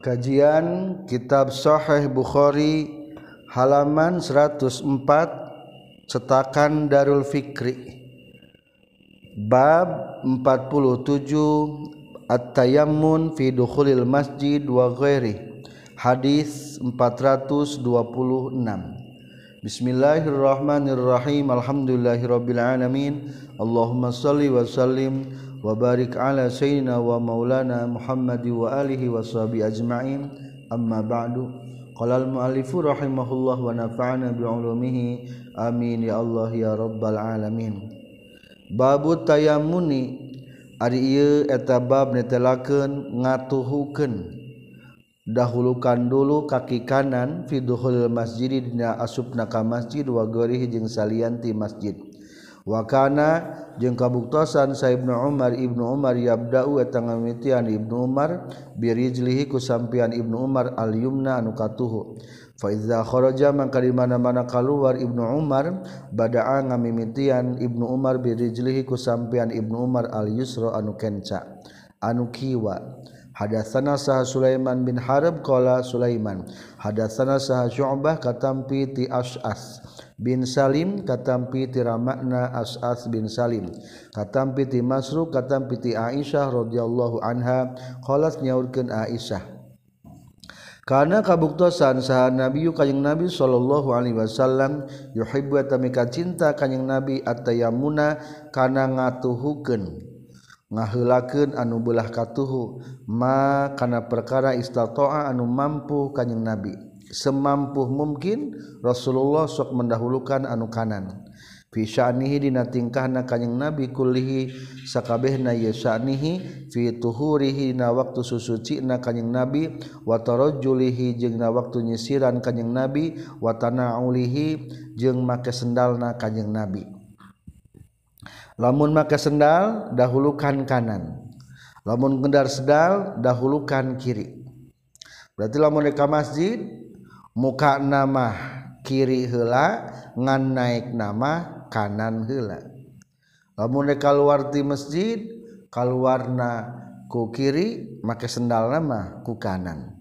Kajian Kitab Sahih Bukhari halaman 104 cetakan Darul Fikri. Bab 47 At-Tayammun fi dukhulil masjid wa ghairi. Hadis 426. Bismillahirrahmanirrahim. Alhamdulillahirabbil alamin. Allahumma shalli wa sallim wa barik ala sayyidina wa maulana Muhammad wa alihi wa sahbihi ajma'in. Amma ba'du. Qala al-mu'allifu rahimahullah wa nafa'ana bi 'ulumihi amin ya Allah ya rabbal alamin. Babu tayammuni ari ieu eta bab netelakeun ngatuhukeun dahulukan dulu kaki kanan fi dukhulil masjid dina asupna ka masjid wa ghairihi jeung salian ti masjid. Wa kana jeung kabuktosan sa Ibnu Umar yabda'u eta ngamitian Ibnu Umar birijlihi ku sampean Ibnu Umar al yumna anu katuhu. Fa iza kharaja mangka di mana-mana kaluar Ibnu Umar bada'a ngamimitian Ibnu Umar birijlihi ku sampean Ibnu Umar al yusra anu kenca anu kiwa. Hadatsana saha Sulaiman bin Harb qala Sulaiman hadatsana saha Syu'bah katampi ti As'as bin Salim katampi ti Ramakna As'as bin Salim katampi ti Masruq katampi ti Aisyah radhiyallahu anha qalat nyaurkeun Aisyah kana kabuktosan saha Nabi kanjing Nabi sallallahu alaihi wasallam yuhibbu tamika cinta kanjing Nabi at-tayammuna kana ngatuhukeun ngaheulakeun anu beulah katuhu ma kana perkara istata'a anu mampu kanjing Nabi semampu mungkin Rasulullah sok mendahulukan anu kanan fi sya'nihi dina tingkahna kanjing Nabi kullihi sakabehna ye sya'nihi fi tuhurihi na waktu susucina kanjing Nabi wa tarajjulihi jeung na waktu nyisiran kanjing Nabi wa tana'ulihi jeung make sendalna kanjing Nabi. Lamun make sendal dahulukan kanan, lamun gendar sendal dahulukan kiri. Berarti lamun ka masjid muka nama kiri heula ngan naik nama kanan heula. Lamun keluar ti masjid kaluarna ku kiri make sendal nama ku kanan.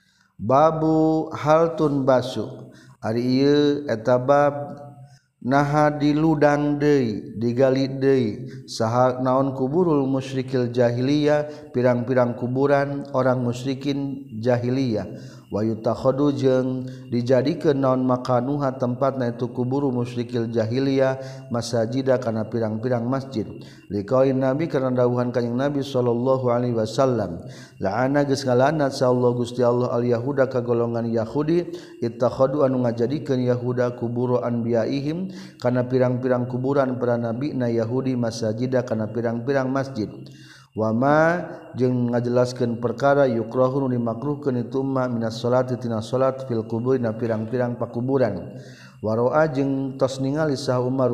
Babu haltun basu ari ieu eta bab naha diludang deui digali deui saha naon kuburul musyrikil jahiliyah pirang-pirang kuburan orang musyrikin jahiliyah wa yutakhadu jeung dijadikeun naon makanuha tempatna itu kuburu musyrikil jahiliyah masajida kana pirang-pirang masjid liqaulin nabi karena dawuhan kanjing Nabi sallallahu alaihi wasallam la'ana geus ngalanat sa Allah Gusti Allah al yahuda ka golongan Yahudi ittakhadu anu ngajadikeun Yahuda kuburu anbiyaihim kana pirang-pirang kuburan para nabi na Yahudi masajida kana pirang-pirang masjid wama jeung ngajelaskeun perkara yukrahun dimakruhkeun itu ma minas salati tina salat fil kubur na pirang-pirang pakuburan waroa jeung tos ningali sah Umar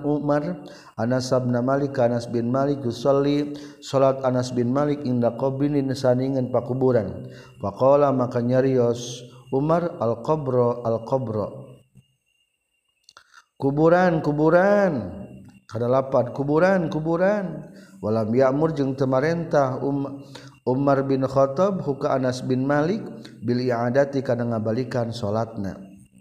Anas bin Malik yusolli salat Anas bin Malik inda qabrin saningan pakuburan faqala maka nyarios Umar al qabra kuburan kada lapat kuburan walam ya'mur jeung teu marentah Umar bin Khattab huka Anas bin Malik bil i'adati kana ngabalikan salatna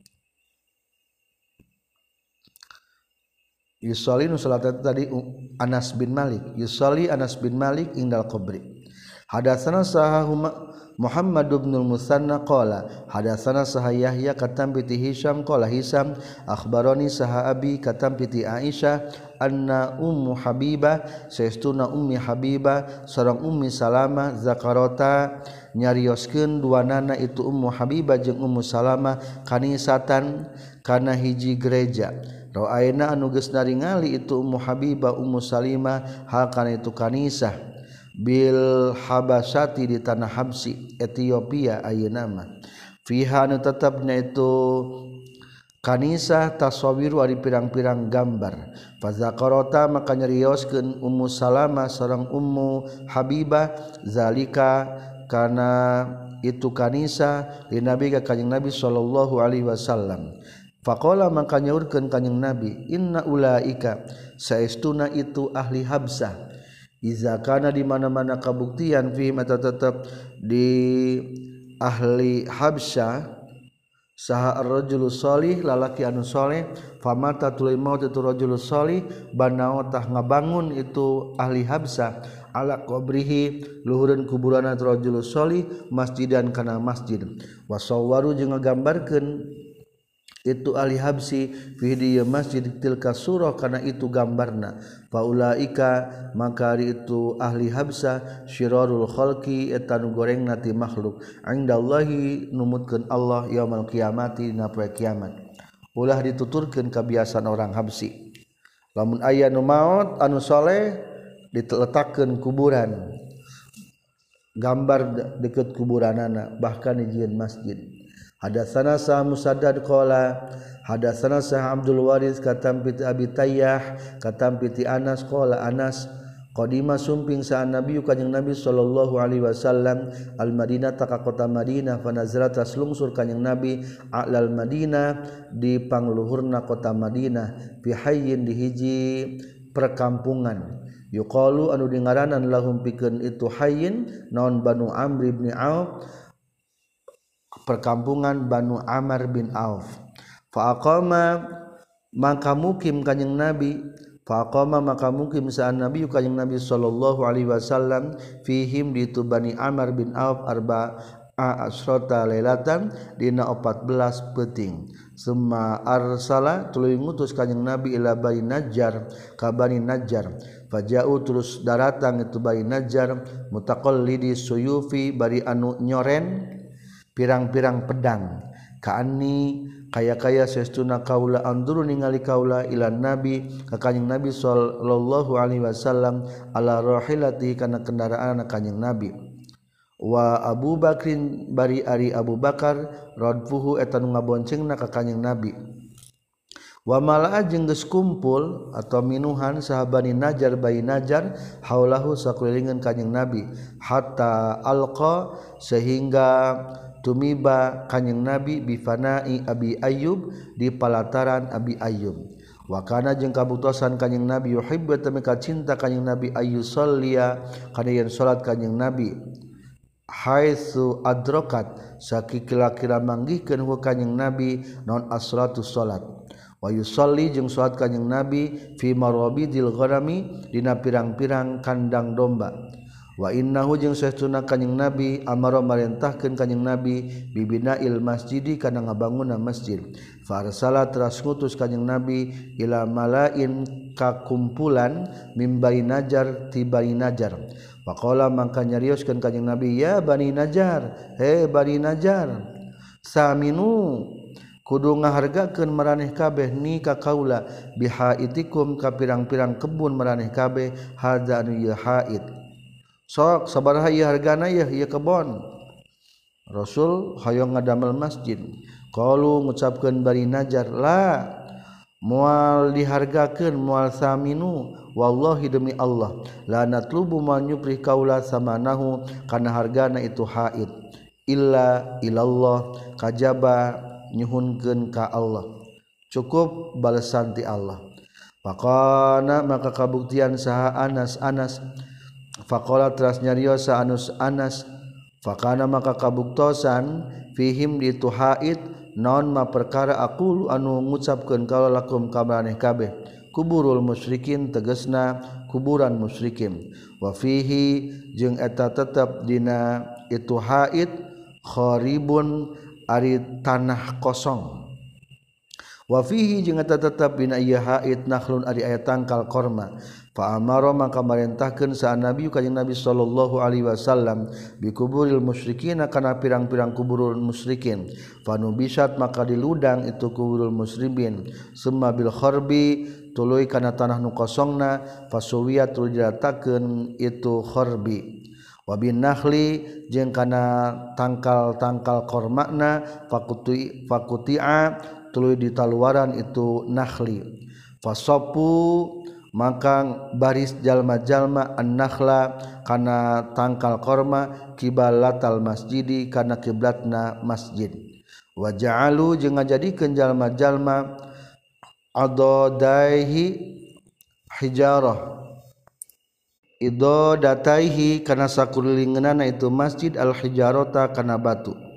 yusolli nu salat tadi Anas bin Malik yusolli Anas bin Malik indal qabri hadatsana saha Muhammad bin al-Musanna qala hadatsana saha Yahya katampi ti Hisham qala Hisham akhbarani saha abi katampi ti Aisyah anna ummu Habibah saestuna ummi Habibah sareng ummi Salamah zakarota nyarioskeun duanana itu ummu Habibah jeung ummu Salamah kanisatan kana hiji gereja ra'ayna anu geus naringali itu ummu Habibah ummu Salimah hal kana itu kanisah bil Habasyati di tanah Habsi Ethiopia ayeuna mah fiha anu tetepna itu kanisah tasawiru ari pirang-pirang gambar fazakarota maka nyarioskeun ummu Salamah sareng ummu Habibah zalika kana itu kanisah di Nabi ka kanjing Nabi sallallahu alaihi wasallam faqala maka nyaurkeun kanjing Nabi inna ulaika saestuna itu ahli Habsah iza kana di mana-mana kabuktian fi mata tetap di ahli Habsyah saha ar-rajulus shalih lalaki anu saleh famata tuluy maut itu rajulus shalih banao tah ngabangun itu ahli Habsyah ala qabrihi luhureun kuburan rajulus shalih masjidan kana masjid wasawwaru jeung ngagambarkeun itu ahli habsi fi di masjid tilka surah kana itu gambarna faulaika maka itu ahli habsa syirarul khalqi eta nu gorengna ti makhluk indallahi numutkeun Allah yaumul qiyamati dina poe kiamat ulah dituturkeun kabiasaan orang habsi lamun aya nu maot anu saleh diletakkeun kuburan gambar deket kuburanana bahkan dijieun masjid. Hadatsana Sah Musaddad qala hadatsana Sah Abdul Waris katam piti Abi Tayyah katam piti Anas qala Anas qadima sumping sa Nabi kanjing Nabi sallallahu alaihi wasallam al Madinah ka kota Madinah fa nazala taslungsur kanjing Nabi alal Madinah di pangluhurna kota Madinah fi hayyin di hiji perkampungan yuqalu anu dingaranan lahum pikeun itu hayyin naon Banu Amr bin Auf perkampungan Banu Amr bin Auf fa aqama maka mukim kanjing Nabi fa aqama maka mukim sa'an Nabi kanjing Nabi sallallahu alaihi wasallam fihim di tu Bani Amr bin Auf arba'a asrata lailatan dina 14 peuting summa arsala tuluy ngutus kanjing Nabi ila Bani Najjar ka Bani Najjar faja'u terus daratang itu Bani Najjar mutaqallidi suyufi bari anu nyoren pirang-pirang pedang kaani kaya-kaya sestuna kaula anduru ningali kaula ila nabi ka kanjing Nabi sallallahu alaihi wasallam ala rahilati kana kendaraan kanjing Nabi wa Abu Bakrin bari ari Abu Bakar radfuhu eta nu ngaboncengna ka kanjing Nabi wa malaa jeung geus kumpul atau minuhan sahabani Najjar Bani Najjar haulahu sakelilingan kanjing Nabi hatta alqa sehingga tumiba kanjing Nabi bifanai Abi Ayyub di palataran Abi Ayyub wa kana jeung kabutosan kanjing Nabi yuhibbu tamika cinta kanjing Nabi ayyusalliya kana yen salat kanjing Nabi haitsu adrakat sakira-kira manggihkeun hu kanjing Nabi naon as-salatu salat wa yusalli jeung salat kanjing Nabi fi marabidil ghanami dina pirang-pirang kandang domba wa innahu jeung saestuna kanjing Nabi amara marentahkeun kanjing Nabi bibinail masjidi kana ngabangunna masjid farsala teras ngutus kanjing Nabi ila malain ka kumpulan mim Bani Najjar ti Bani Najjar faqala mangka nyarioskeun kanjing Nabi ya Bani Najjar he Bani Najjar saminu kudu ngahargakeun maraneh kabeh ni ka kaula bihaitikum ka pirang-pirang kebun maraneh kabeh hadza anu ieu haid sok sabaraha ieu hargana ieu kebon Rasul hayang ngadamel masjid qalu ngucapkeun Bani Najjar la moal dihargakeun moal saminu wallahi demi Allah la natlubu man yuprih kaula samanahu kana hargana itu haid illa ilallah kajaba nyuhunkeun ka Allah cukup balesan ti Allah faqana maka kabuktian saha Anas faqala teras nyariosa Anas faqana maka kabuktosan fihim di tu haid naon ma perkara aqulu anu ngucapkeun kaula lakum ka maraneh kabeh kuburul musyrikin tegasna kuburan musyrikin wa fihi jeung eta tetep dina itu haid kharibun ari tanah kosong wa fihi jeung eta tetep dina ieu haid nakhlun ari aya tangkal korma fa amara maka marentahkeun sa Nabi kanjing Nabi sallallahu alaihi wasallam bi kuburil musyrikin kana pirang-pirang kuburul musyrikin fa nubisat maka diludang itu kuburul musyrikin summa bil kharbi tuluy kana tanah nu kosongna fasuwiyat tuluy diratakeun itu kharbi wa bin nakhli jeung kana tangkal-tangkal kormakna fakuti'a tuluy ditaluaran itu nakhli fasapu maka baris jalma-jalma an-nakhla kana tangkal korma kibalatal masjidi kana kiblatna masjid wa ja'alu jeung ngajadikeun jalma-jalma adadaihi hijarah ido dataihi kana sakulilingeunana itu masjid al hijarata kana batu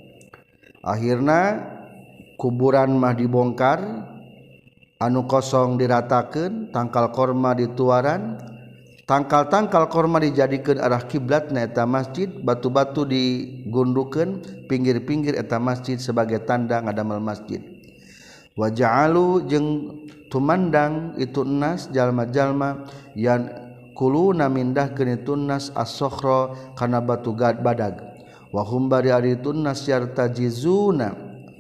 Akhirna kuburan mah dibongkar, anu kosong diratakeun, tangkal korma dituaran, tangkal-tangkal korma dijadikeun arah kiblatna eta masjid, batu-batu digundukeun pinggir-pinggir eta masjid sebagai tanda ngadamel masjid. Wa ja'alu jeung tumandang itu nas jalma-jalma yang kuluna mindahkeun itu nas as-sokhra kana batu badag. Wa hum bari ari itu nas yartajizuna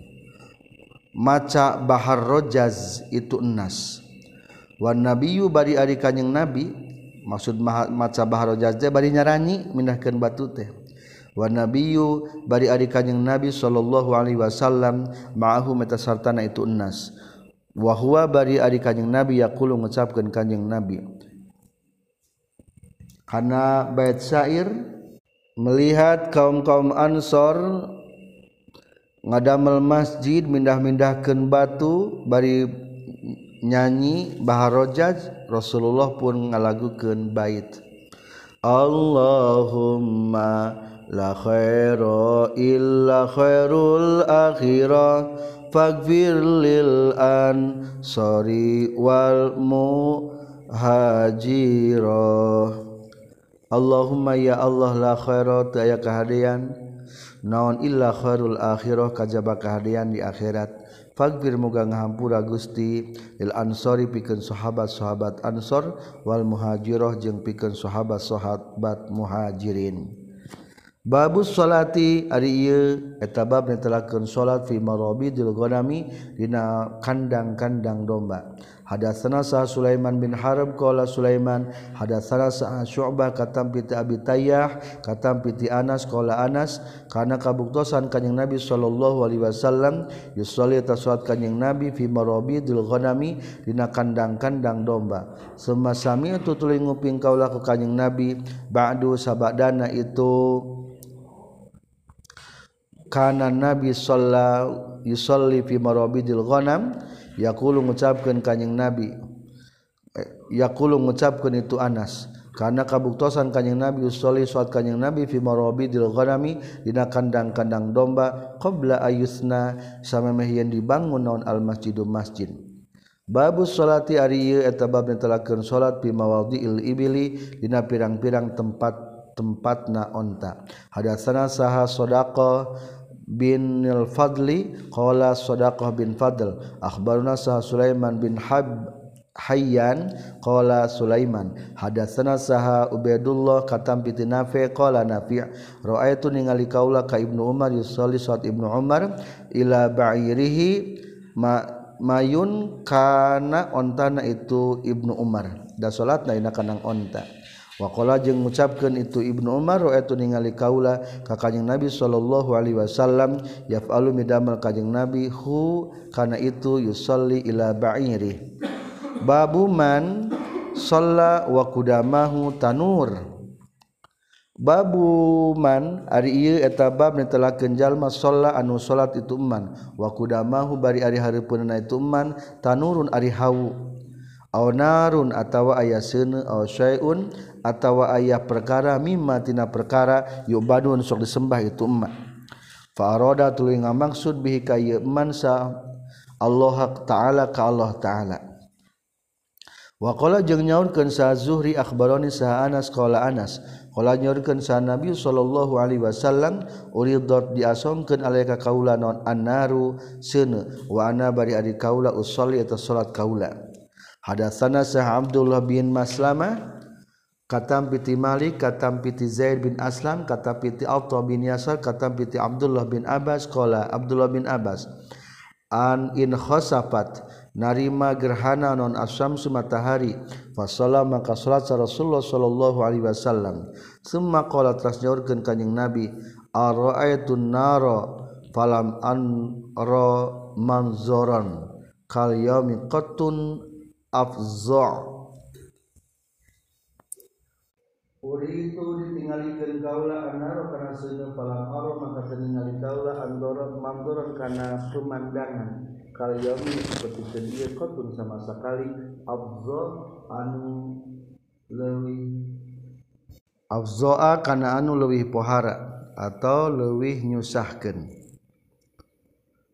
maca bahar rojaz itu nas. Wa nabiyyu bari ari kanjing nabi, maksud maca bahar rojaz teh bari nyaranyi mindahkeun batu teh. Wa nabiyyu bari ari kanjing nabi sallallahu alaihi wasallam ma'ahu meta sartana itu nas. Wa huwa bari ari kanjing nabi yaqulu ngucapkeun kanjing nabi kana bait syair, melihat kaum-kaum Ansor ngadamel masjid mindah-mindahkeun batu bari nyanyi bahar rojaz, Rasulullah pun ngalagukeun bait Allahumma la khaira illa khairul akhirah faghfir lil ansari wal muhajirah. Allahumma ya Allah la khaira teu aya kahadian naon illa khairul akhirah kajaba kahadian di akhirat. Faghfir muga ngahampura Gusti lil ansori pikeun sahabat-sahabat Ansor wal muhajirah jeung pikeun sahabat-sahabat muhajirin. Babus salati ari ieu eta bab netelakeun salat fi marabidil ghanami dina kandang-kandang domba. Hadatsana Sa Sulaiman bin Harb qala Sulaiman hadatsana Sa Syu'bah katam piti Abi Tayyah katam piti Anas qala Anas kana kabuktosan kanjing Nabi sallallahu alaihi wasallam yusolli tasawat kanjing Nabi fi marabidil ghanami dina kandang-kandang domba. Semasami itu tuluy nguping kaula ku kanjing Nabi ba'du sabadana itu kana Nabi sallallahu yusolli fi marabidil ghanam yaqulu ngucapkeun kanjing Nabi yaqulu ngucapkeun itu Anas karena kabuktosan kanjing Nabi usolli salat kanjing Nabi fi marabidil ghanami dina kandang-kandang domba qabla ayusna samemeh yen dibangun naon al masjidu masjid. Babus salati ari ieu eta bab netelakeun salat fi mawadhi'il ibili dina pirang-pirang tempat-tempatna onta. Hadatsana saha sadaqah bin al-Fadli qala Sadaqah bin Fadl akhbaruna Sa Sulaiman bin Hayyan qala Sulaiman hadatsana saha Ubaidullah katam piti Nafi qala Nafi raaitu ningali kaula ka Ibnu Umar yusolli salat Ibnu Umar ila ba'irihi mayun kana ontana itu Ibnu Umar da salatna dina kandang onta. Waqala jeung ngucapkeun itu Ibnu Umar raaitu ningali kaula ka kanjing Nabi sallallahu alaihi wasallam yaf'alu midamel kanjing Nabi hu kana itu yusolli ila ba'iri. Babu man shalla wa qudamahu tanur. Babu man ari ieu eta bab netelakeun jalma shalla anu salat itu man wa qudamahu bari ari hareupeunna itu man tanurun ari hawu aw narun atawa aya seuneu aw syai'un atawa aya perkara mimma tina perkara yubadun sok disembah itu emak. Fa arada tuluy ngamaksud bihi ka ieu man sa Allah taala ka Allah taala. Wa qala jeung nyaurkeun sa Zuhri akhbarani sa Anas qala Anas qala nyaurkeun sa Nabi sallallahu alaihi wasallam uridat diasongkeun alaika kaula naon annaru seuneu wa ana bari ari kaula usolli eta salat kaula. Hadatsana Sah Abdullah bin Maslamah katam piti Malik katam piti Zaid bin Aslam katam piti Atha bin Yasar katam piti Abdullah bin Abbas qala Abdullah bin Abbas an in khosafat narima gerhana non asyamsu matahari fa sallama ka salat Rasulullah sallallahu alaihi wasallam summa qala tasnyaurkeun kanjing Nabi ara'aitun nara falam an ra manzoran kal yaumi qatun afza' uri itu ditinggalikeun kaula anaro kana seuneu falam aro maka tingali kaula andoron mandoron kana pemandangan kal yaumi seperti dia qatun sama sekali afza' anu leuwih afza'a kana anu leuwih pohara atau leuwih nyusahkeun.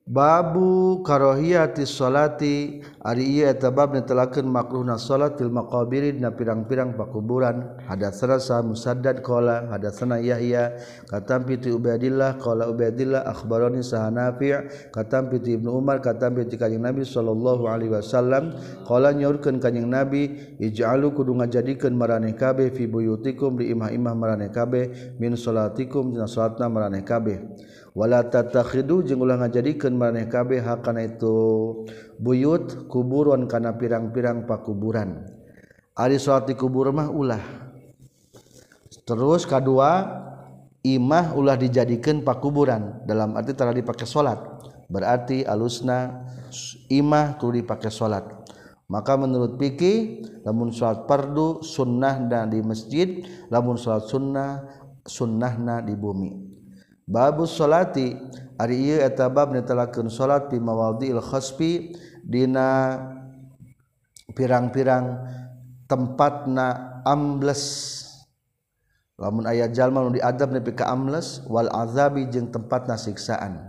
Babu karohiyati sholati ari ieu eta bab netelakeun makruhna salat fil maqabir dina pirang-pirang pakuburan. Hadatsana sa Musaddad qala hadatsana Yahya katampi ti Ubaidillah qala Ubaidillah akhbarani sa Nafi' katampi ti Ibnu Umar katampi ti Kanjeng Nabi sallallahu alaihi wasallam qala nyaurkeun Kanjeng Nabi ij'alu kudu ngajadikeun maraneh kabeh fi buyutikum di imah-imah maraneh kabeh min salatikum dina salatna maraneh kabeh. Wala tatakhidu jeung ulah ngajadikeun maraneh kabeh hakana itu buyut kuburan kana pirang-pirang pakuburan. Ari salat di kubur mah ulah. Terus kadua imah ulah dijadikeun pakuburan dalam arti tara dipake salat. Berarti alusna imah kudu dipake salat. Maka menurut fikih lamun salat fardu sunnahna di masjid, lamun salat sunnahna di bumi. Babus sholati ari ieu eta bab netelakeun salat fi mawadhi'il khasfi dina pirang-pirang tempatna ambles. Lamun aya jalma nu diadab nepi ka ambles wal azabi jeung tempatna siksaan.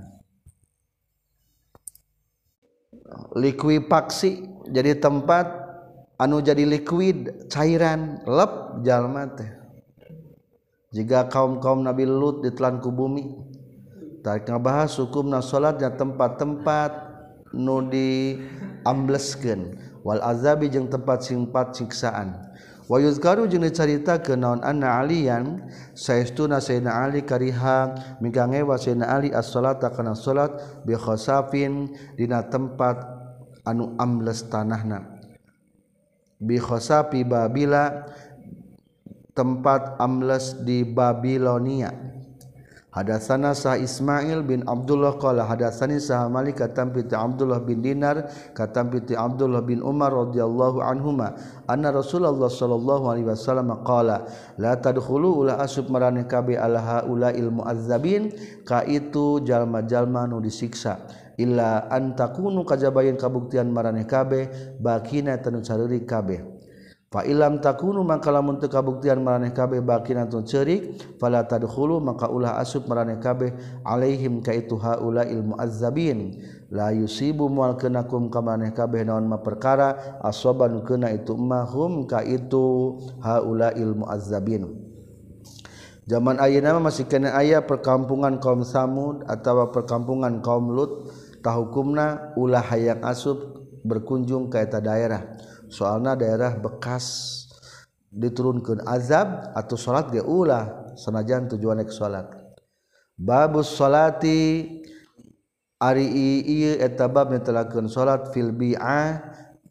Likuifaksi jadi tempat anu jadi liquid cairan lep jalma teh. Jika kaum-kaum Nabi Lut ditelan ku bumi tarik ngabahas hukumna salatnya tempat-tempat nu diambleskeun wal azabi jeung tempat siksaan wa yuzkaru jeung dicaritakeun naon anna aliyan saestuna sayyidina Ali kariha migangewa sayyidina Ali as-salata kana salat bi khasafin dina tempat anu ambles tanahna bi khasafi Babila tempat ambles di Babilonia. Hadatsana sah Ismail bin Abdullah qala hadatsani sah Malik katampi ti Abdullah bin Dinar katampi ti Abdullah bin Umar radhiyallahu anhuma anna Rasulullah sallallahu alaihi wasallam qala la tadkhulu ula asub maraneh kabeh ala haulail muazzabin ka itu jalma-jalma nu disiksa illa antakunu kajabayan kabuktian maraneh kabeh bakina tanu careurik kabeh. Fa ilam takunu maka lamun teu kabuktian maraneh kabeh bakina tun ceurik fala tadkhulu maka ulah asup maraneh kabeh alaihim ka itu haulail muazzabin la yusibu mual kenakum ka maraneh kabeh naon ma perkara asoban keuna itu mahum ka itu haulail muazzabin. Zaman ayeuna masih kena aya perkampungan kaum Samud atawa perkampungan kaum Lut tahukumna ulah hayang asup berkunjung ka eta daerah. Soalna daerah bekas diturunkeun azab atau salat ge ulah sanajan tujuan ek salat. Babus salati ari ieu eta bab netelakeun salat fil bi'ah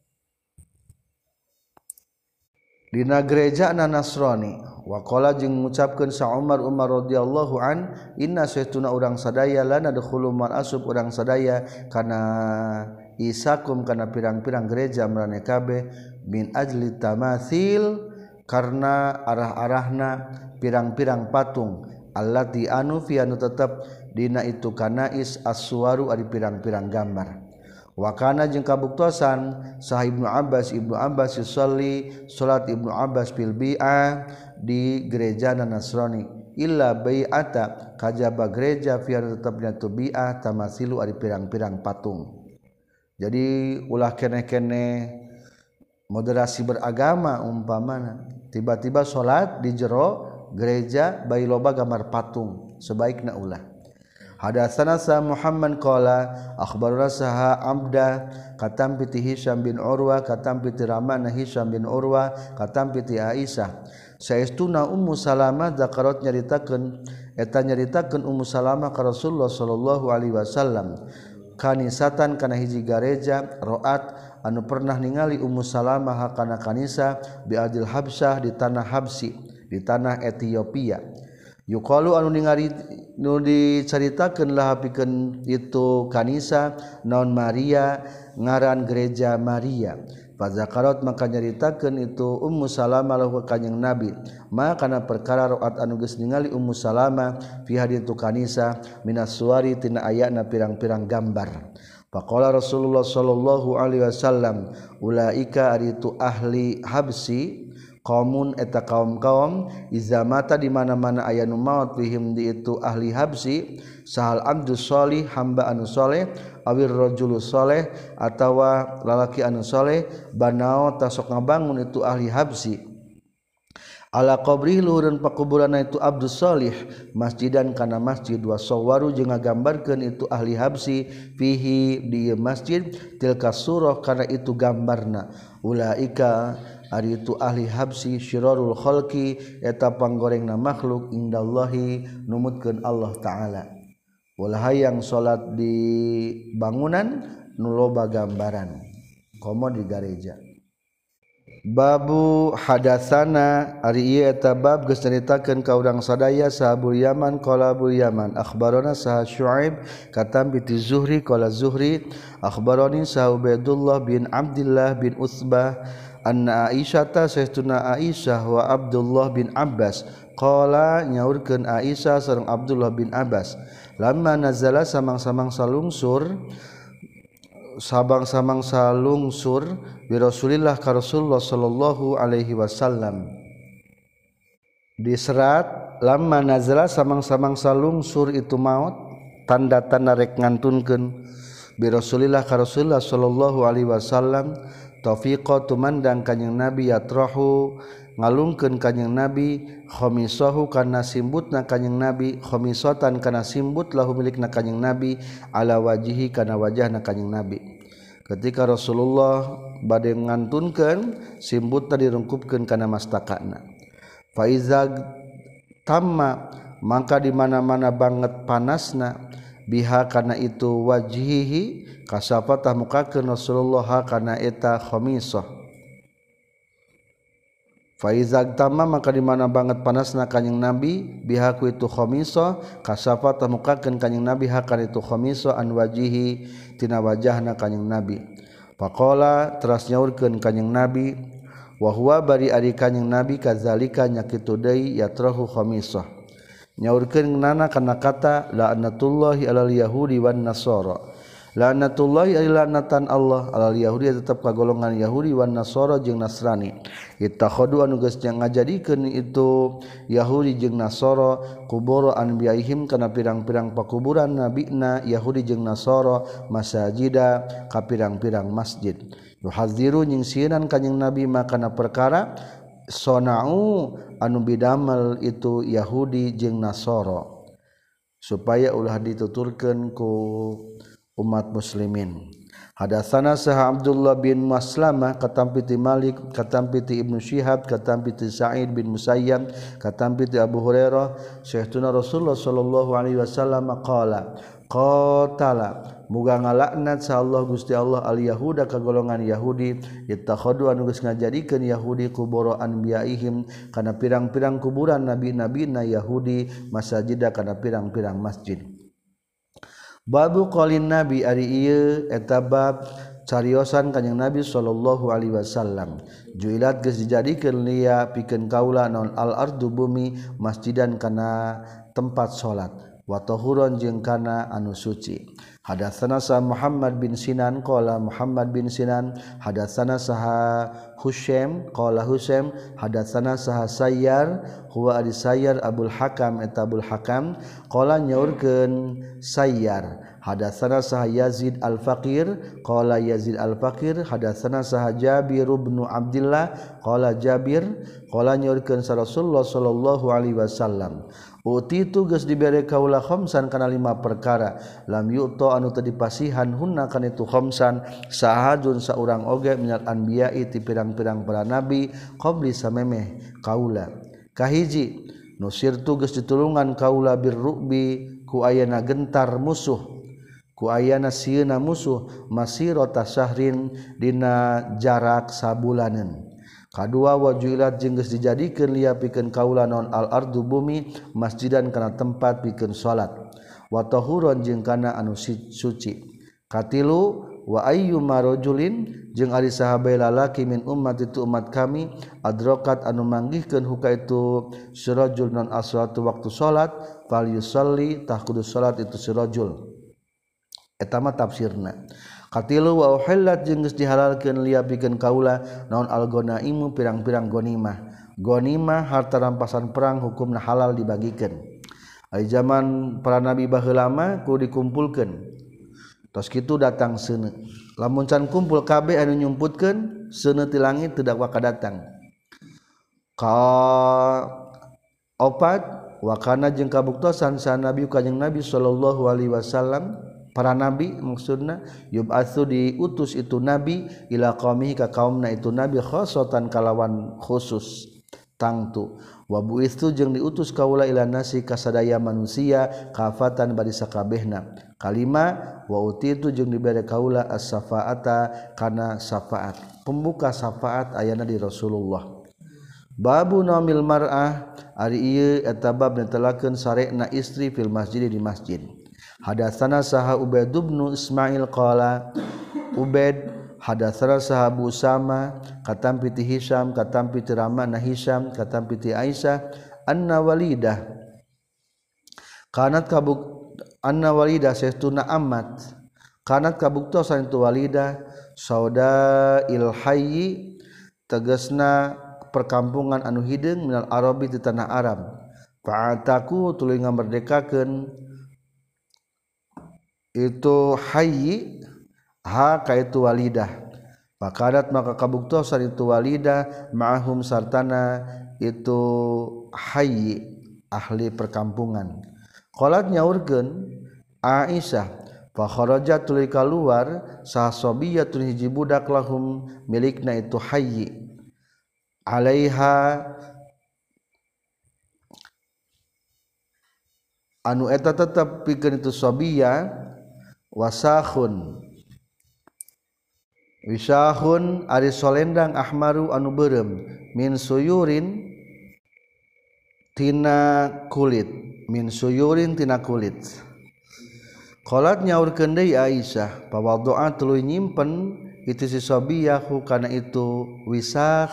dina gerejana Nasrani. Wa qala jeung ngucapkeun sa Umar radhiyallahu an inna saytuna urang sadaya lana nadkhulu mal asub urang sadaya kana isakum kana pirang-pirang gereja maraneh kabeh min ajli tamathil karena arah-arahna pirang-pirang patung allati anu fi anu tetep dina itu kanais as-suwaru ari pirang-pirang gambar. Wa kana jeung kabuktosan sah Ibnu Abbas yusolli salat Ibnu Abbas fil bi'ah di gereja Nasrani illa bai'ata kajaba gereja fi anu tetepna tu bi'ah tamasilu ari pirang-pirang patung. Jadi ulah kene-kene moderasi beragama umpamana tiba-tiba salat di jero gereja bayi loba gambar patung sebaikna ulah. Hadatsana sa Muhammad qala akhbarana sa Abda katampi ti Hisyam bin Urwa katampi ti Ramana Hisyam bin Urwa katampi ti Aisyah saestuna Ummu Salamah zakarat nyaritakeun Ummu Salamah ka Rasulullah sallallahu alaihi wasallam kanisatan kana hiji gareja roat anu pernah ningali Ummu Salamah kana kanisa bi adil Habsyah di tanah Habsi di tanah Ethiopia yuqalu anu ningali nu dicaritakeun lah pikeun itu kanisa naon Maria ngaran gereja Maria fazakarat maka nyaritakeun itu Ummu Salamah lahu kanjing Nabi maka kana perkara roat anu geus ningali Ummu Salamah fi haditu kanisa minas suwari tina ayana pirang-pirang gambar. Faqala Rasulullah sallallahu alaihi wasallam ulaika aritu ahli habsi kaumun eta kaum-kaum izamata di mana-mana aya nu maot fihim di itu ahli habsi sahal abdus sholih hamba anu soleh awir rajulus soleh atawa lalaki anu soleh banao tasok ngabangun itu ahli habsi ala qabrih luhurun pakuburanna itu abdus sholih masjidan kana masjid wa sawwaru jeung ngagambarkeun itu ahli habsi fihi di masjid tilka surah kana itu gambarna ulaika ari itu ahli habsi syirarul khalqi eta panggorengna makhluk indallahi numutkeun Allah taala ulah hayang salat di bangunan nu loba gambaran komo di gareja. Babu hadatsana ari ieu eta bab geus nyaritakeun ka urang sadaya sahabul Yaman qala Abul Yaman akhbarana sah Syuaib katam bi Zuhri qala Zuhri akhbarani sah Ubaidullah bin Abdullah bin Utsbah anna Aisyah saestuna Aisyah wa Abdullah bin Abbas qala nyaurkeun Aisyah sareng Abdullah bin Abbas lamma nazala samang-samang salungsur sabang-samang salungsur bi Rasulillah ka Rasulullah sallallahu alaihi wasallam di serat lamma nazala samang-samang salungsur itu maut tanda-tanda rek ngantunkeun bi Rasulillah ka Rasulullah sallallahu alaihi wasallam taufiqa tumandang kanjing Nabi yatrahu ngalungkeun kanjing Nabi khamisahu kana simbutna kanjing Nabi khamisatan kana simbut lahu milikna kanjing Nabi ala wajihi kana wajahna kanjing Nabi ketika Rasulullah bade ngantunkeun simbutna dirungkupkeun kana mastakana fa iza tamma maka di mana-mana banget panasna biha kana itu wajhihi kasafata mukakeun Rasulullah kana eta khamisah faizag tamma maka di mana banget panasna kanjing Nabi bihaku itu khamisah kasafata mukakeun kanjing Nabi hakan itu khamisah an wajihi tina wajahna kanjing Nabi faqala teras nyaurkeun kanjing Nabi wa huwa bari ari kanjing Nabi kadzalika nyakitu deui yatrahu khamisah nyaurkeun nana kana kata la'natullahi alal yahudi wan nasara la'natullahi laknatan Allah alal yahudi tetap ka golongan Yahudi wan Nasara jeung Nasrani ittakhadu anu geus ngajadikeun itu Yahudi jeung Nasara kubur anbiyaihim kana pirang-pirang pakuburan nabina Yahudi jeung Nasara masajida ka pirang-pirang masjid yuhadziru nyingsiran kanjing Nabi makana perkara sonau anu bidamel itu Yahudi jeung Nasara supaya ulah dituturkeun ku umat muslimin. Hadatsana sah Abdullah bin Maslamah katam piti Malik katam piti Ibnu Syihab katam piti Sa'id bin Musayyab katam piti Abu Hurairah syaituna Rasulullah sallallahu alaihi wasallam qala qatala muga ngalaknat sa Allah Gusti Allah al yahuda ka golongan Yahudi ittakhadu anu geus ngajadikeun Yahudi kubur anbiyaihim kana pirang-pirang kuburan nabi-nabina Yahudi masajida kana pirang-pirang masjid. Babu qaulin Nabi ari ieu eta bab cariosan kanjing Nabi sallallahu alaihi wasallam juilat geus dijadikeun liya pikeun kaula naon al ardu bumi masjidan kana tempat salat wa tahuran jeung kana anu suci. Hadatsana sa Muhammad bin Sinan qala Muhammad bin Sinan hadatsana saha Husaim qala Husaim hadatsana saha Sayyar huwa ari Sayyar Abul Hakam eta Abul Hakam qala nyaurkeun Sayyar hadatsana saha Yazid Al-Faqir qala Yazid Al-Faqir hadatsana saha Jabir bin Abdullah qala Jabir qala nyaurkeun sa Rasulullah sallallahu alaihi wasallam utitu geus dibere kaula khamsan kana 5 perkara lam yu'ta anu teu dipasihan hunna kana itu khamsan sahadun saurang oge minal anbiya'i ti pirang-pirang para nabi qabli samemeh kaula kahiji nusirtu geus ditulungan kaula birrubi ku ayana gentar musuh ku ayana sieuna musuh masirata syahrin dina jarak sabulaneun. Kadua wajulat jeung geus dijadikeun liya pikeun kaula naon al ardu bumi masjidan kana tempat pikeun salat wa tahuran jeung kana anu suci. Katilu wa ayyuma rajulin jeung ari sahabat lalaki min ummat itu umat kami adrokat anu manggihkeun huka itu sirajul non as-salatu waktu salat fal yusalli tah kudu salat itu sirajul eta mah tafsirna. Katilu wa uhillat jeung geus dihalalkeun liya pikeun kaula naon al-ghanaimu pirang-pirang ghanimah Ghanimah harta rampasan perang hukumna halal dibagikeun. Ai zaman para nabi baheula mah kudu dikumpulkeun. Tos kitu datang seuneu. Lamun can kumpul kabeh anu nyumputkeun seuneu ti langit teu dawa kadatang. Ka opat wakana jeung kabuktosan sa nabi kanjing Nabi sallallahu alaihi wasallam para nabi maksudna yub'atsu diutus itu nabi ila qaumihi ka kaumna itu nabi khosotan kalawan khusus tangtu wa buistu jeung diutus kaula ila nasi kasadaya manusia kafatan bari sakabehna kalima wa utitu jeung dibere kaula as-safaata kana syafaat pembuka syafaat ayana di Rasulullah. Babu naumil mar'ah ari ieu eta bab netelakeun sarekna istri fil masjid di masjid. Hadatsana saha Ubaid bin Ismail qala Ubaid hadatsana saha Abu Usama katampi ti Hisyam katampi ti Ramana Hisyam katampi ti Aisyah anna walidah kanat saestuna amat kanat kabuktosan itu walidah sauda il hayyi tegasna perkampungan anu hideung minal arabi di tanah Arab fa'ataku tuluy ngamerdekakeun itu hayyi ha ka itu walidah fakadat maka kabuktosan itu walidah ma'ahum sartana itu hayyi ahli perkampungan qalat nyaurkeun Aisyah fa kharajat tuluy kaluar sahabiyatun hiji budak lahum milikna itu hayyi alaiha anu eta tetep pikeun itu sabiyah wasahun wisahun ari solendang ahmaru anu beureum min suyurin tina kulit qalat nyaurkeun deui Aisyah pawaddoa tuluy nyimpen itu si sabiyahu kana itu wisah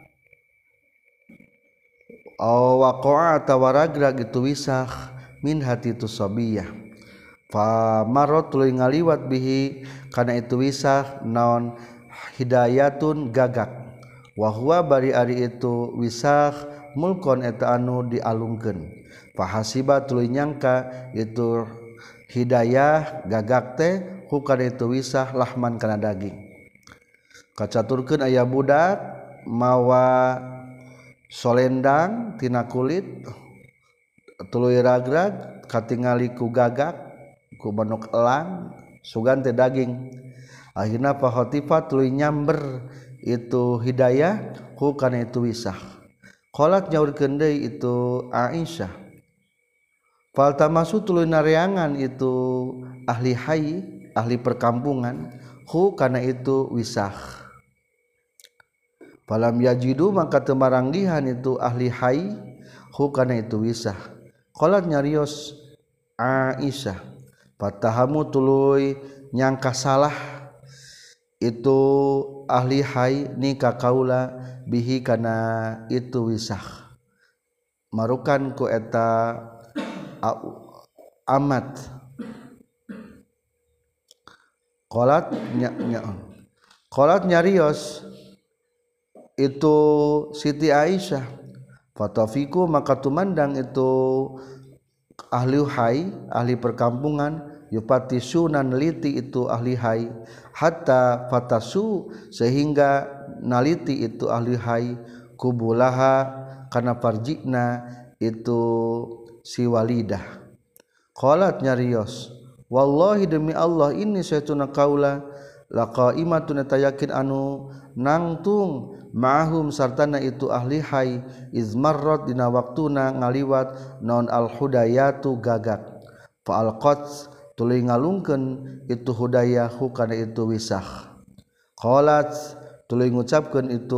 waqa'a tawaragrag itu wisah min hati itu sabiyah fa marot tuluy ngaliwat bihi kana itu wisah naon hidayatun gagak wa huwa bari ari itu wisah mulkon eta anu dialungkeun fa hasiba tuluy nyangka itu hidayah gagak teh hukana itu wisah lahman kana daging kacaturkeun aya budak mawa solendang tina kulit tuluy ragrag katingali ku gagak ku manuk elang sugan teh daging akhirna fa khatifat tuluy nyamber itu hidayah ku kana itu wisah qalat nyaurkeun deui itu Aisyah fal tamasu tuluy nareangan itu ahli hayy ahli perkampungan ku kana itu wisah falam yajidu maka teu maranggihan itu ahli hayy hukana itu wisah qalat nyarios Aisyah fatahamu tuluy nyangka salah itu ahli hayy nikah kaula bihi kana itu wisah marukan ku eta amat qalat nyarios itu Siti Aisyah fatafiku maka tumandang itu ahli hayy ahli perkampungan yupati sunan neliti itu ahli hayy hatta fatasu sehingga naliti itu ahli hayy kubulaha kana farjina itu si walidah qalat nyarios wallahi demi Allah ini saytuna kaula laqaimatun tayakin anu nangtung ma'hum sartana itu ahli hayy izmarrat dina waktuna ngaliwat non al hudayatu gagak fa alqat tuluy ngalungkeun itu hudayah kana itu wisah qalat tuluy ngucapkeun itu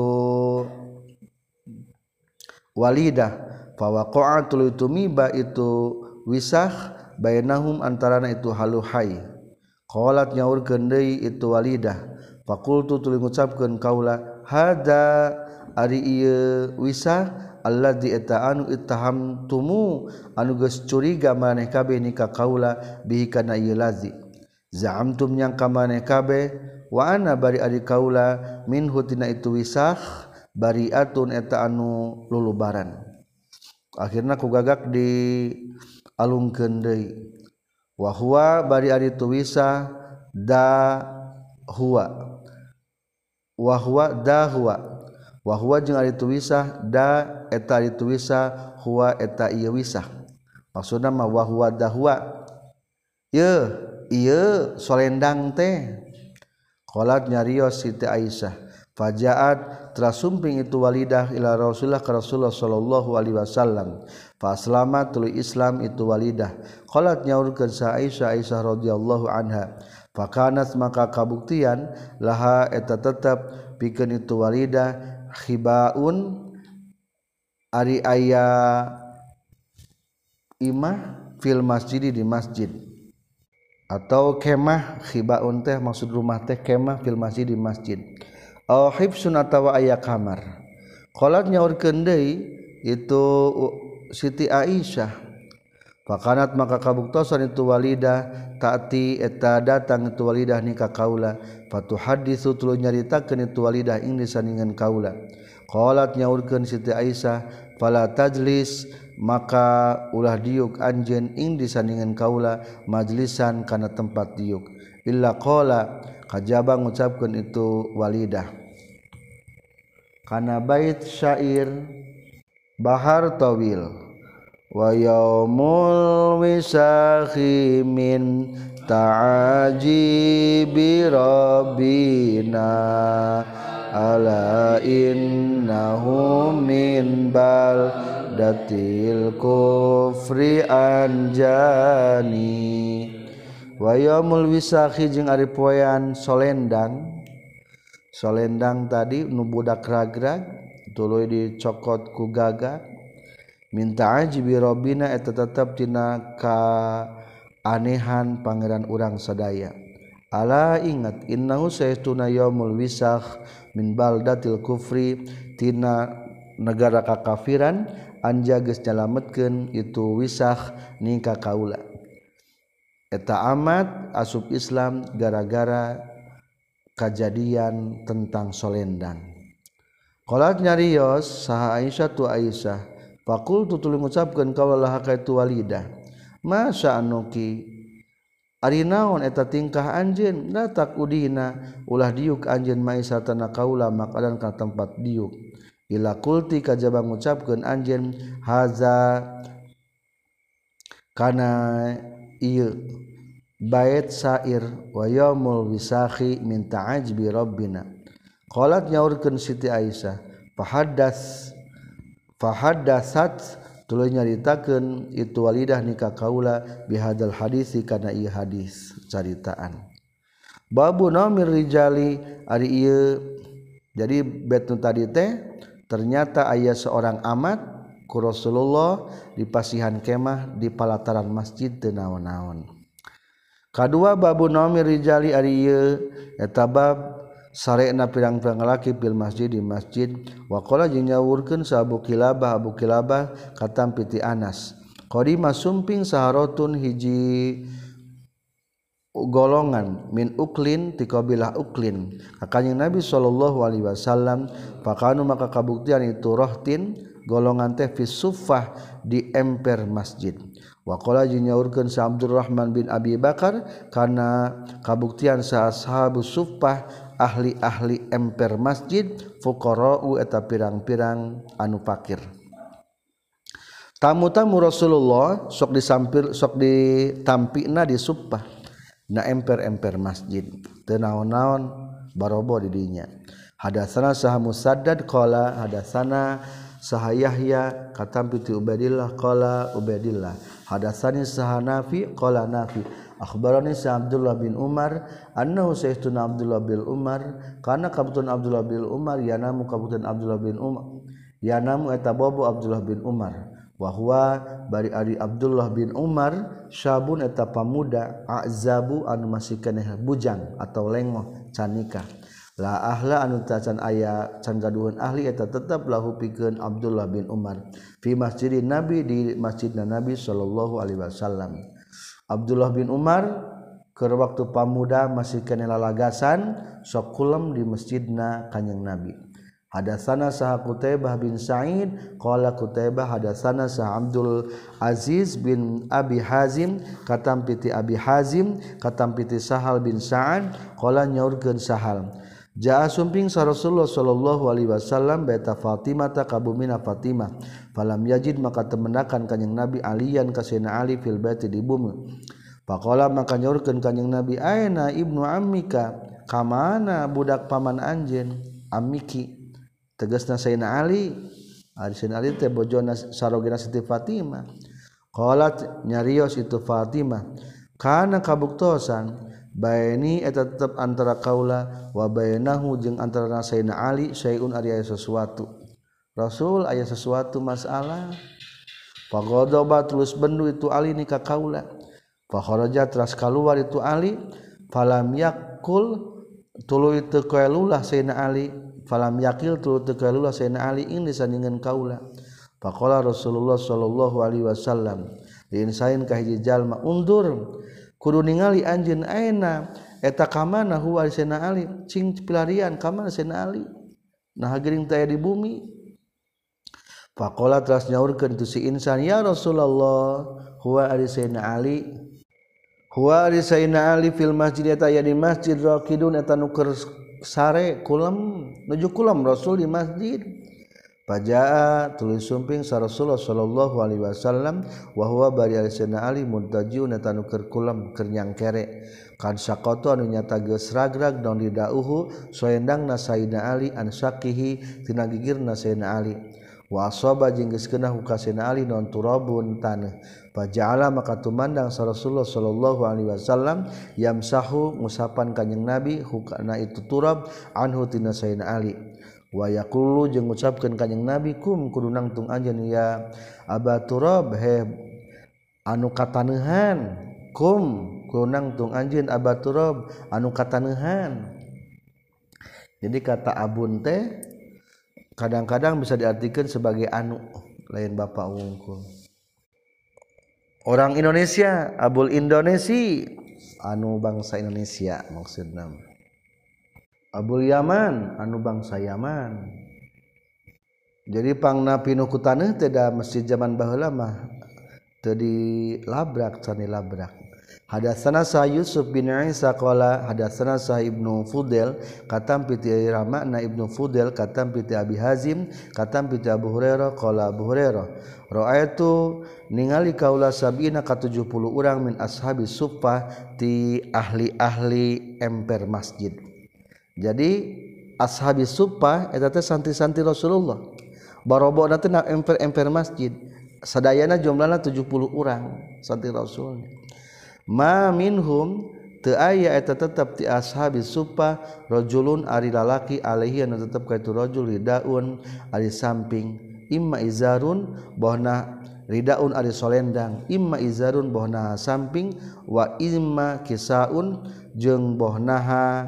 walidah fa waqa'a tuluy tumiba itu wisah bainahum antarana itu halu hayy qalat nyaurkeun deui itu walidah faqultu tuluy ngucapkeun kaula hada ari ieu wisah alladzi eta anu ittahamtumu anu geus curiga maneh kabeh nikah kaula bihi kana ieu lazi za'amtum nyangka maneh kabeh wa ana bari ari kaula minhu tina itu wisah bariatun eta anu lulubaran akhirna ku gagak di alungkeun deui wa huwa bari ari tu wisa da huwa wa huwa da huwa wa huwa jeung ari tu wisa da eta ari tu wisa huwa eta ieu wisa maksudna mah wa huwa da huwa ieu solendang teh qalat nyarios Siti Aisyah fajaat trasumping itu walidah ila Rasulullah ka Rasulullah sallallahu alaihi wasallam fa aslama tuluy Islam itu walidah qalat nyaurkeun sa Aisyah radhiyallahu anha fa kanat maka kabuktian laha eta tetep pikeun itu walidah khibaun ari aya imah fil masjid di masjid atau kemah khibaun teh maksud rumah teh kemah fil masjid di masjid au hibsun atawa aya kamar qalat nyaurkeun deui itu Siti Aisyah fakanat maka kabuktosan itu walidah taati eta datang itu walidah ni ka kaula fatuhaddisu tuluy nyaritakeun itu walidah ing disandingan kaula qalat nyaurkeun Siti Aisyah fala tajlis maka ulah diuk anjeun ing disandingan kaula majlisan kana tempat diuk illa qala kajaba ngucapkeun itu walidah kana bait syair bahar tawil wa yaumul wisakhi min ta'ajibi rabbina ala innahu min baldatil kufri anjani wa yaumul wisakhi jeung ari poean solendang tadi nu budak ragrag tuluy dicokot ku gagak minta ajibi rabbina eta tetep tina kaanehan pangeran urang sadaya ala ingat innahu saytuna yaumul wisakh min baldatil kufri tina negara kakafiran anja geus nyalametkeun itu wisakh ning ka kaula eta amat asup Islam gara-gara kejadian tentang solendang qalat nyarios saha Aisyah tu Aisyah faqultu tuluy ngucapkeun kaula ka itu walidah masa anuki ari naon eta tingkah anjeun la takudina ulah diuk anjeun maisatana kaula makadan ka tempat diuk ila qulti kajaba ngucapkeun anjeun haza kana ieu bait syair wa yaumul wisakhi min ta'ajbi rabbina qalat nyaurkeun Siti Aisyah fahaddatsat tuluy nyaritakeun itu walidah nikah kaula bihadzal hadisi kana ieu hadis caritaan babu namir rijali ari ieu jadi bait nu tadi teh ternyata aya seorang amat ku Rasulullah di pasihan kemah di palataran masjid teu naon-naon kadua babu namir rijali ari ieu eta bab sarena pirang-pirang lalaki fil masjid di masjid wa qala jeung nyaurkeun sa Abu Kilabah katam piti Anas qadima sumping saharatun hiji golongan min uklin ti kabilah uklin ka kanjing Nabi sallallahu alaihi wasallam fakanu maka kabuktian itu rohtin golongan teh fi suffah di emper masjid wa qala jeung nyaurkeun sa Abdurrahman bin Abi Bakar kana kabuktian sa ashabus suffah ahli-ahli emper masjid fuqara'u eta pirang-pirang anu fakir tamu-tamu Rasulullah sok ditampina di suffah na emper-emper masjid teu naon-naon barobo di dinya hadatsana sah Musaddad qala hadatsana sah Yahya katampi ti Ubaidillah qala Ubaidillah hadatsani sah Nafi qala Nafi akhbarani sa Abdullah bin Umar annahu sayyiduna Abdullah bin Umar kana kabutun Abdullah bin Umar yanamu kabutun Abdullah bin Umar yanamu eta bobo Abdullah bin Umar wa huwa bari ari Abdullah bin Umar syabun eta pamuda azabu anu masih keneh bujang atau lengoh can nikah la ahla anu tacan aya can gaduhan ahli eta tetep lahu pikeun Abdullah bin Umar fi masjidin Nabi di masjidna Nabi sallallahu alaihi wasallam Abdullah bin Umar keur waktu pamuda masih keneh lalagasan sok kulem di masjidna kanjing Nabi Hadatsana Sah Qutaibah bin Sa'id qala Qutaibah hadatsana Sah Abdul Aziz bin Abi Hazim katam piti Abi Hazim katam piti Sahal bin Sa'ad qala nyaurkeun Sahal jaa sumping sa Rasulullah sallallahu alaihi wasallam baita Fatimah ta kabumina Fatimah falam yajid maka temenakan kanjing Nabi aliyan ka Sayyidina Ali fil baiti di bumi faqala maka nyaurkeun kanjing Nabi aina ibnu ammika kamana budak paman anjeun amiki tegasna Sayyidina Ali Sayyidina Ali teh bojona sarogina Siti Fatimah qalat nyarios itu Fatimah kana kabuktosan baini eta tetep antara kaula wa bainahu jeung antara Sayyidina Ali syai'un ari aya sesuatu Rasul aya sesuatu masalah faghadaba terus bendu itu Ali ni ka kaula fa kharaja teras kaluar itu Ali falam yakul tuluy teu kaelulah Sayyidina Ali falam yakil tu tekalulah Sayyidina Ali ini sandingan kaula faqala Rasulullah sallallahu alaihi wasallam diin sain ka hiji jalma undur kudu ningali anjeun aina eta ka mana huwa Sayyidina Ali cing pilarian ka mana Sayyidina Ali nah geuning teh di bumi faqala teras nyaurkeun tu si insan ya Rasulullah huwa ari Sayyidina Ali huwa ari Sayyidina Ali fil masjid eta aya di masjid raqidun eta nu sare kulam nuju kulam Rasul di masjid pajaa tulis sumping sa Rasulullah sallallahu alaihi wasallam wa huwa bari Sayyidina Ali muntajiun eta nu keur kulam keur nyangkere kad saqatu anu nyata geus ragrag daun didauhu soendangna Sayyidina Ali an saqihi tina gigirna Sayyidina Ali wa asaba jeung geus keunah ka Sayyidina Ali non turabun tanah faja'ala maka tumandang sa Rasulullah sallallahu alaihi wasallam yamsahu ngusapan kanjing Nabi hukana itu turab anhu tina Sayyidina Ali wa yaqulu jeung ngucapkeun kanjing Nabi kum kudu nangtung anjeun ya Aba Turab he anu kataneuhan kum kudu nangtung anjeun Aba Turab anu kataneuhan jadi kata abun teh kadang-kadang bisa diartikan sebagai anu lain bapak wungkul orang Indonesia abul Indonesi anu bangsa Indonesia maksudna abul Yaman anu bangsa Yaman jadi pangna pinu ku taneuh teh da masjid zaman baheula mah teu dilabrak sani labrak hadatsana sa Yusuf bin Isa qala hadatsana sa Ibnu Fudel katam piti Ramana Ibnu Fudel katam piti Abi Hazim katam piti Abu Hurairah qala Abu Hurairah ra'aitu ningali kaula sabina ka 70 urang min ashabi suffah ti ahli-ahli emper masjid jadi ashabi suffah eta teh santri-santri Rasulullah barobona teh emper masjid sadayana jumlahna 70 urang santri Rasul ma minhum teu aya eta tetep ti ashabi suffah rajulun ari lalaki alaihi anu tetep ka itu rajul ridaun ari samping imma izarun bohna ridaun ari solendang imma izarun bohna samping wa imma kisaun jeung bohnaha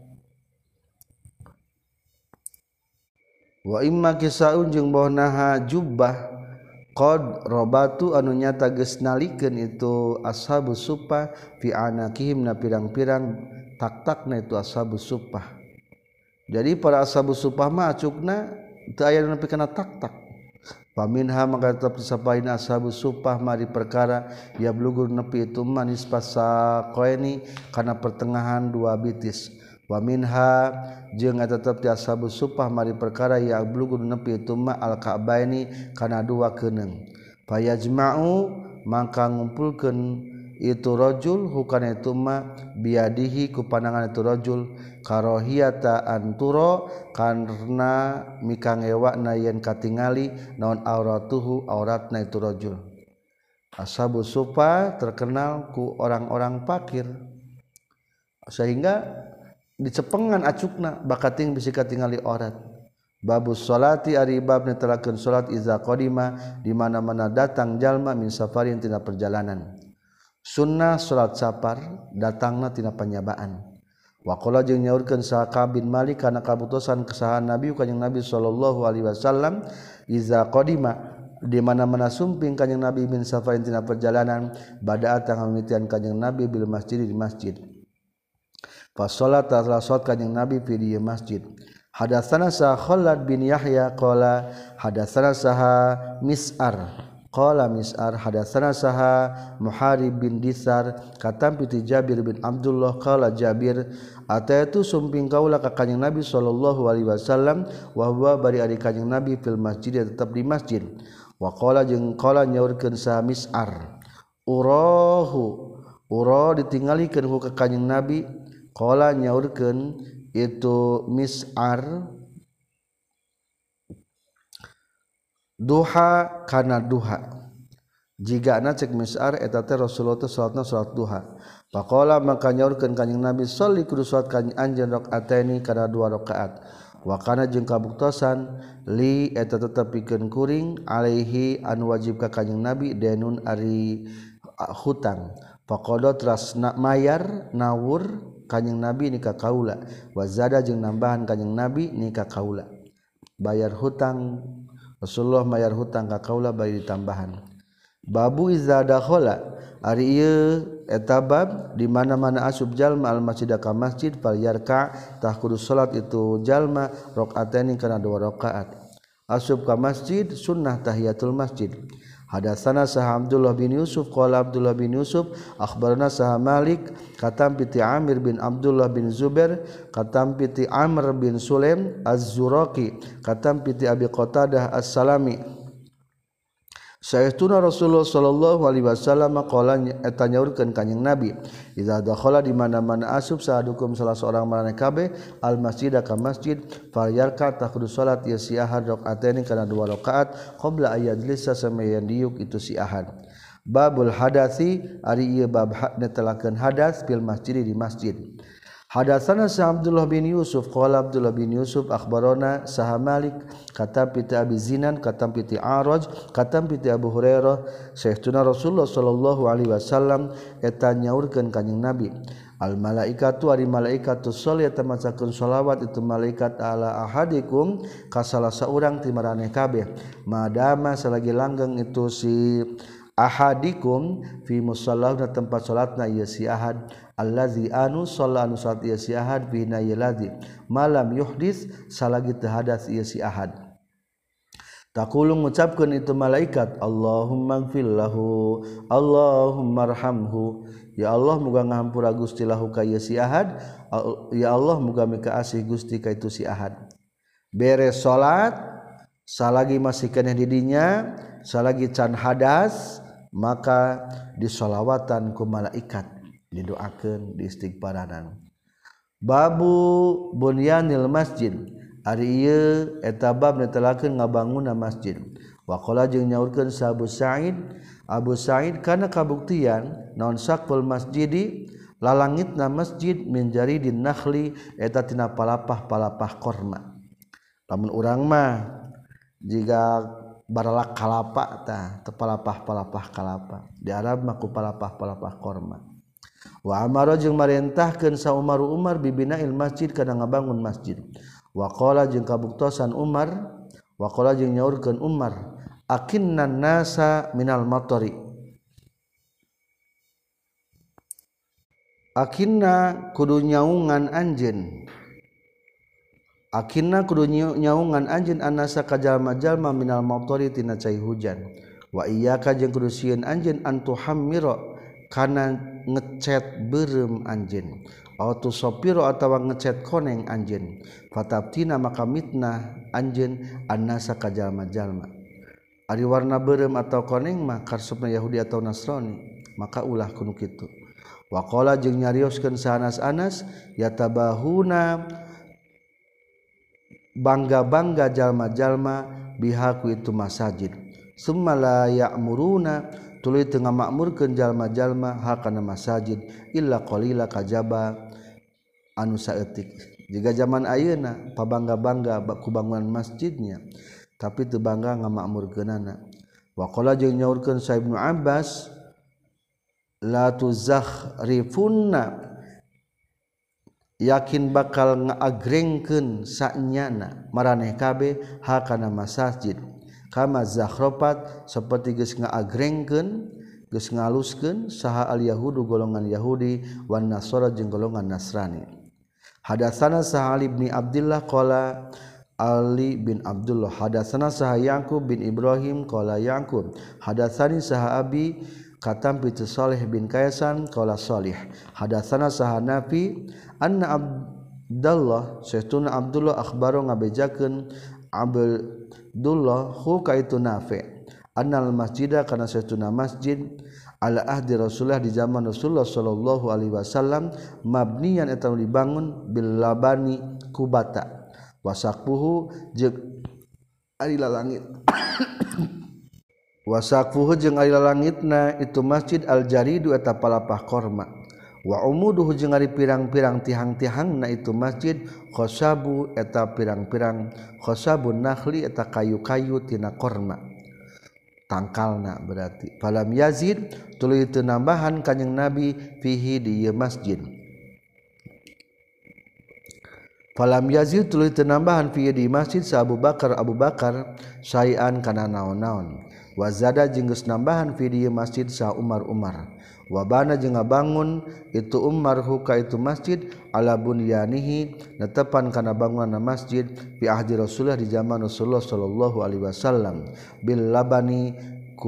wa imma kisaun jeung bohnaha jubbah qad robatu anu nyata geus nalikeun itu ashabus suffah fi anakihim na pirang-pirang tak-takna itu ashabus suffah jadi para ashabus suffah mah acukna teu aya nu nepi kana tak-tak paminha maka tetep sapain ashabus suffah mari perkara ya blugur nepi itu manis pasaqaini kana pertengahan dua bitis wa minha jeung tetep ti ashabus suffah mari perkara ya blugur nepi itu ma al ka'baini kana dua keuneng fayajma'u maka ngumpulkeun itu rajul hukana itu ma biadihi ku pandangan itu rajul karahiyata anturo karena mikangewakna yen katingali naon auratuhu auratna itu rajul ashabus suffah terkenal ku orang-orang fakir sehingga dicepengan acukna bakating bisi katingali aurat babus salati ari bab netelakeun salat iza qadima di mana-mana datang jalma min safarin tina perjalanan sunnah salat safar datangna tina panyabaan wa qala jeung nyaurkeun Sa'ab bin Malik kana kabutusan kesahan Nabi kanjing Nabi sallallahu alaihi wasallam iza qadima di mana-mana sumping kanjing Nabi min safarin tina perjalanan badaat tang mimitian kanjing Nabi bil masjid di masjid fa salat kanjing Nabi fi di masjid Hadatsana sa Khalad bin Yahya qala hadatsana saha Mis'ar qala Mis'ar hadatsana saha Muharib bin Disar katam piti Jabir bin Abdullah qala Jabir ataitu sumping kaula ka Kanjeng Nabi sallallahu alaihi wasallam wa huwa bari ari Kanjeng Nabi fil masjid tetep di masjid wa qala jeung qala nyaurkeun saha Mis'ar ura ditinggalikeun ku ka Kanjeng Nabi qala nyaurkeun itu Mis'ar duha kana duha jika cek Mis'ar eta teh Rasulullah teh salatna salat duha faqala maka nyaurkeun Kanjeng Nabi sholli kudu salat ka anjeun rakaataini kana 2 rakaat wa kana jeung kabuktosan li eta tetep pikeun kuring alaihi anu wajib ka Kanjeng Nabi denun ari hutang faqada teras mayar nawur Kanjeng Nabi ni ka kaula wa zada jeung nambahan Kanjeng Nabi ni ka kaula bayar hutang Rasulullah bayar hutang ka kaula bari ditambahan babu iza dakhala ari ieu eta bab di mana-mana asub jalma al masjid ka masjid fal yarka tah kudu salat itu jalma rakaataini kana 2 rakaat asub ka masjid sunnah tahiyatul masjid hadatsana sah Abdullah bin Yusuf qala Abdullah bin Yusuf akhbarana sah Malik katam piti Amir bin Abdullah bin Zubair katam piti Amr bin Sulaim Az-Zuraqi katam piti Abi Qatadah As-Salami saestuna Rasulullah sallallahu alaihi wasallam qala eta nyaurkeun Kanjeng Nabi idza dakhala di mana-mana asub sadukum salah seorang maraneh kabeh al masjid ka masjid falyarka takhudus salat ya si ahad rakaataini kana 2 rakaat qabla ayadlisa samayan diuk itu si ahad babul hadasi ari ieu bab netelakeun hadas fil masjid di masjid hadatsana sa Abdullah bin Yusuf qala Abdullah bin Yusuf akhbarana saha Malik katam piti Abi Zinan katam piti Araj katam piti Abu Hurairah saestuna Rasulullah sallallahu alaihi wasallam eta nyaurkeun Kanjeng Nabi al malaikatu ari malaikatu sholli eta macakeun shalawat itu malaikat ala ahadikum ka salah saurang ti maraneh kabeh madama salagi langgeng itu si ahadikum fi musallahu tempat salatna ieu si ahad allazi anu shalla anu salat ieu si ahad bina yaladi malam yuhdis salagi teu hadas ieu si ahad taqulu ngucapkeun itu malaikat Allahumma ighfir lahu Allahumma arhamhu ya Allah muga ngahampura Gusti lahu ka ieu si ahad ya Allah muga mika asih Gusti ka itu si ahad beres salat salagi masih keneh di dinya salagi can hadas maka disolawatan ku malaikat didoakeun diistighfaranan babu bunyanil masjid ari ieu eta bab netelakeun ngabangunna masjid wa qala jeung nyaurkeun sa Abu Sa'id kana kabuktian naon saqful masjidi lalangitna masjid min jaridin nakhli eta tina palapah-palapah korma lamun urang mah jiga baralak kalapa tah tepalapah-palapah kalapa di Arab mah ku palapah-palapah korma wa amara jeung marentahkeun sa Umar bibinail masjid kana ngabangun masjid wa qala jeung kabuktosan Umar wa qala jeung nyaurkeun Umar akinnan nasa minal matari akinna kudu nyaungan anjeun akinna kudu nyaungan anjeun anasa ka jalma-jalma minal matari tina cai hujan wa iyyaka jeung kudu sieun anjeun antuhammira kana ngecet beureum anjeun atau sopiro atawa ngecet koneng anjeun fatabtina maka mitnah anjeun annasa ka jalma-jalma ari warna beureum atau koneng mah karsupna Yahudi atau Nasrani maka ulah kudu kitu wa qala jeung nyarioskeun sa Anas yatabahuna bangga-bangga jalma-jalma bihaku itu masajid summa la ya'muruna tuluy teu ngamakmurkeun jalma-jalma hakana masajid illa qalila kajaba anu saeutik jiga zaman ayeuna pabangga-bangga ku bangunan masjidnya tapi teu bangga ngamakmurkeunana wa qala jeung nyaurkeun sa Ibnu Abbas la tuzakhrifunna yakin bakal ngaagrengkeun sanyana maraneh kabeh hakana masjid kama zakhrafat saperti geus ngaagrengkeun geus ngaluskeun saha al yahudu golongan Yahudi wan nasara jeung golongan Nasrani Hadatsana Sa'ali bin Abdullah qala Ali bin Abdullah hadatsana saha Yaqub bin Ibrahim qala Yaqub hadatsani saha Abi katam bi Salih bin Kaisan qala Salih hadatsana saha Nafi anna Abdullah sayyiduna Abdullah akhbaro ngabejakeun Abdullah hu kaitu Nafi annal masjida kana sayyiduna masjid ala ahdi Rasulullah di zaman Rasulullah sallallahu alaihi wasallam mabniyan eta dibangun bil labani kubata wasaqfuhu jeung ari langit wasaqfuhu jeung ari langitna itu masjid al jaridu eta palapah korma wa umuduhu jeung ari pirang-pirang tihang-tihangna itu masjid khosabu eta pirang-pirang khosabun nakhli eta kayu-kayu tina korma tangkalna berarti falam yazid tuluy teu nambahan kanjing Nabi fihi di masjid falam yazid tuluy teu nambahan fihi di masjid sa Abu Bakar sayan kana naon-naon wa zada jeung geus nambahan fihi di masjid sa Umar wa bana jeung ngabangun itu Umar huka itu masjid ala bunyanihi netepan kana bangunan masjid fi ahdi Rasulullah di zaman Rasulullah sallallahu alaihi wasallam bil labani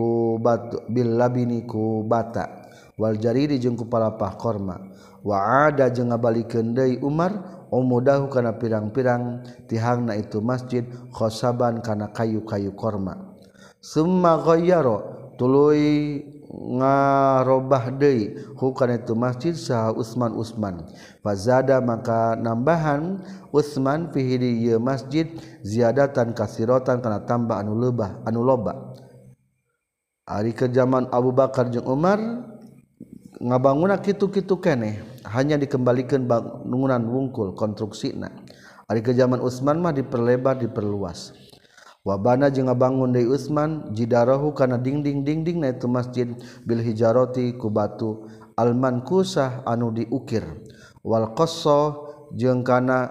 ku bata wal jaridi jeung ku palapah korma wa ada jeung ngabalikeun deui Umar umudahu kana pirang-pirang tihangna itu masjid khosaban kana kayu-kayu korma summa ghayyara tuluy ngarobah deui hukana itu masjid saha Utsman fazada maka nambahan Utsman fihi di masjid ziyadatan kasiratan kana tambah anu loba ari ke zaman Abu Bakar jeung Umar ngabangunna kitu-kitu keneh hanya dikembalikan bangunan wungkul konstruksina ari ke zaman Utsman mah diperlebar diperluas wabana jeung ngabangun deui Utsman jidarahu kana dinding-dinding na itu masjid bil hijarati ku batu al mankusah anu diukir wal qassa jeung kana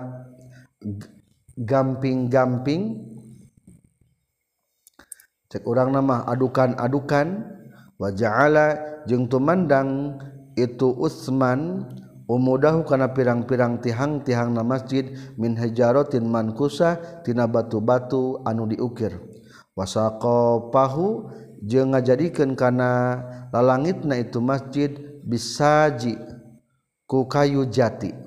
gamping-gamping cek urang nama adukan-adukan wa ja'ala jeung tumandang itu Utsman umudahu kana pirang-pirang tihang-tihangna masjid min hijaratin mankusah tina batu-batu anu diukir wasaqapahu jeung ngajadikeun kana lalangitna itu masjid bisaji ku kayu jati